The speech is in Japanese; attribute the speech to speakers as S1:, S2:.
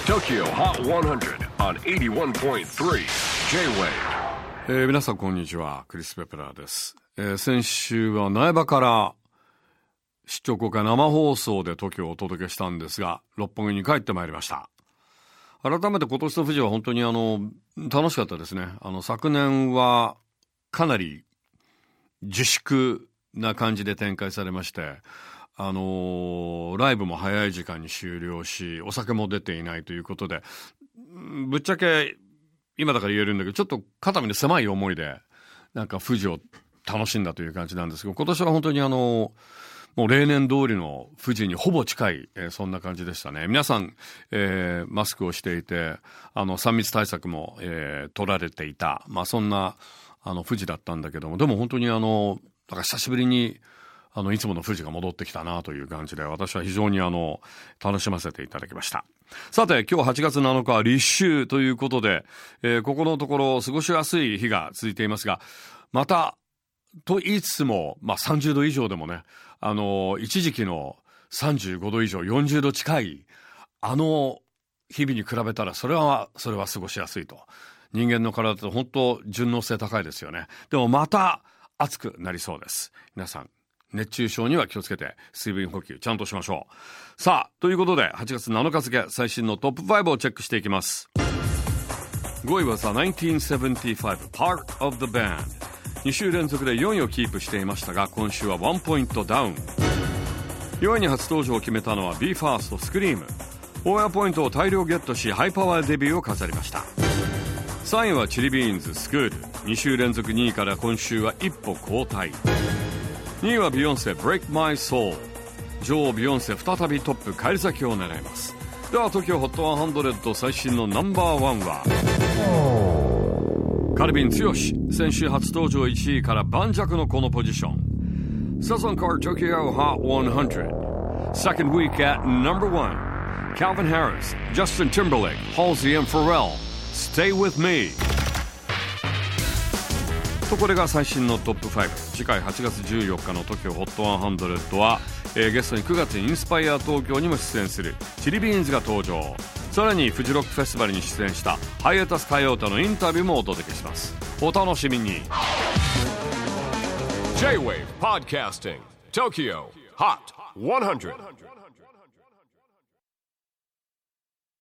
S1: TOKYO HOT 100 on 81.3 J-WAVE、
S2: 皆さんこんにちは、クリス・ペプラーです。先週は苗場から出張公開生放送で TOKYO をお届けしたんですが、六本木に帰ってまいりました。改めて今年の富士は本当に楽しかったですね。昨年はかなり自粛な感じで展開されまして、ライブも早い時間に終了し、お酒も出ていないということで、ぶっちゃけ今だから言えるんだけど、ちょっと肩身の狭い思いでなんか富士を楽しんだという感じなんですけど、今年は本当にもう例年通りの富士にほぼ近い、そんな感じでしたね。皆さん、マスクをしていて、3密対策も、取られていた、そんな富士だったんだけども、でも本当になんか久しぶりにいつもの富士が戻ってきたなという感じで、私は非常に楽しませていただきました。さて、今日8月7日は立秋ということで、ここのところ過ごしやすい日が続いていますが、またと言いつつも、30度以上でもね、一時期の35度以上40度近い日々に比べたらそれは過ごしやすいと。人間の体って本当順応性高いですよね。でもまた暑くなりそうです。皆さん熱中症には気をつけて水分補給ちゃんとしましょう。さあ、ということで8月7日付最新のトップ5をチェックしていきます。5位はさ、1975 Part of the Band。 2週連続で4位をキープしていましたが、今週は1ポイントダウン。4位に初登場を決めたのは BE:FIRST スクリーム。オーヤーポイントを大量ゲットし、ハイパワーデビューを飾りました。3位はチリビーンズスクール。2週連続2位から今週は一歩後退。2位はビヨンセ Break My Soul。 女王ビヨンセ再びトップ返り咲きを狙います。では TOKYO HOT 100最新のナンバーワンはカルビン剛。先週初登場1位から盤石のこのポジション。サザンカー TOKYO HOT 100 Second week at number 1 Calvin Harris, Justin Timberlake, Halsey and Pharrell Stay with me。とこれが最新のトップ5。次回8月14日の TOKYO HOT 100は、ゲストに9月にインスパイア東京にも出演するチリビーンズが登場。さらにフジロックフェスティバルに出演したハイエタスカヨータのインタビューもお届けします。お楽しみに。
S1: J-WAVE PODCASTING TOKYO HOT 100